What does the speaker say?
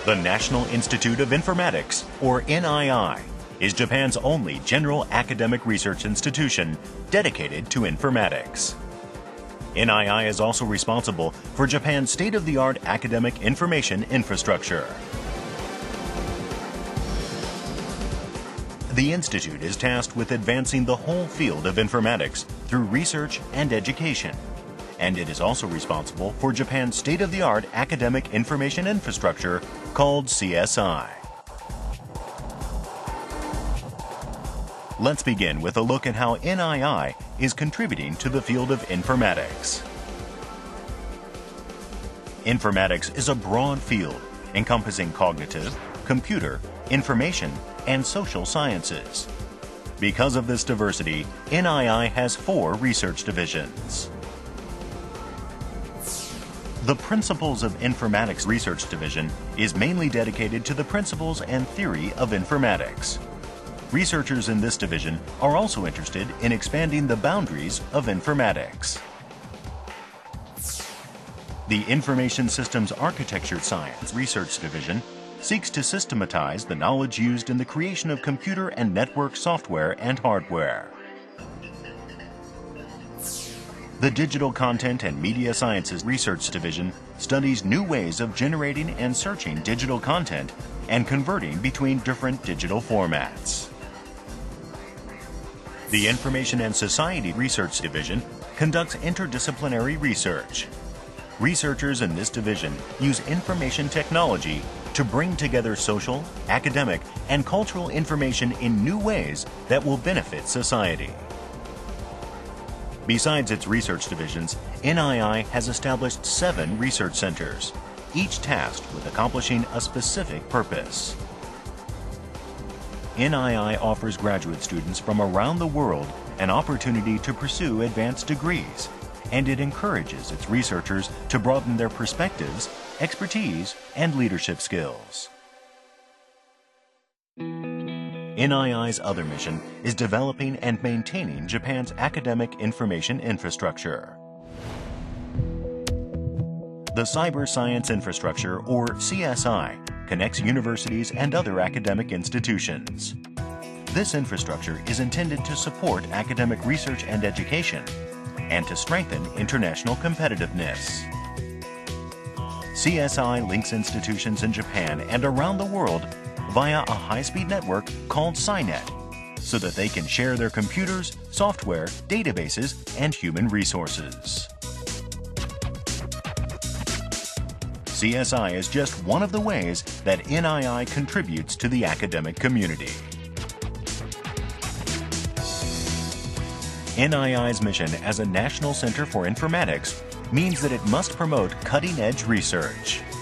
The National Institute of Informatics, or NII, is Japan's only general academic research institution dedicated to informatics. NII is also responsible for Japan's state-of-the-art academic information infrastructure. The Institute is tasked with advancing the whole field of informatics through research and education, and it is also responsible for Japan's state-of-the-art academic information infrastructure called CSI. Let's begin with a look at how NII is contributing to the field of informatics. Informatics is a broad field encompassing cognitive, computer, information, and social sciences. Because of this diversity, NII has 4 research divisions. The Principles of Informatics Research Division is mainly dedicated to the principles and theory of informatics. Researchers in this division are also interested in expanding the boundaries of informatics. The Information Systems Architecture Science Research Division seeks to systematize the knowledge used in the creation of computer and network software and hardware. The Digital Content and Media Sciences Research Division studies new ways of generating and searching digital content and converting between different digital formats. The Information and Society Research Division conducts interdisciplinary research. Researchers in this division use information technology to bring together social, academic, and cultural information in new ways that will benefit society. Besides its research divisions, NII has established 7 research centers, each tasked with accomplishing a specific purpose. NII offers graduate students from around the world an opportunity to pursue advanced degrees, and it encourages its researchers to broaden their perspectives, expertise, and leadership skills. NII's other mission is developing and maintaining Japan's academic information infrastructure. The Cyber Science Infrastructure, or CSI, connects universities and other academic institutions. This infrastructure is intended to support academic research and education and to strengthen international competitiveness. CSI links institutions in Japan and around the world via a high-speed network called SciNet, so that they can share their computers, software, databases, and human resources. CSI is just one of the ways that NII contributes to the academic community. NII's mission as a national center for informatics means that it must promote cutting-edge research.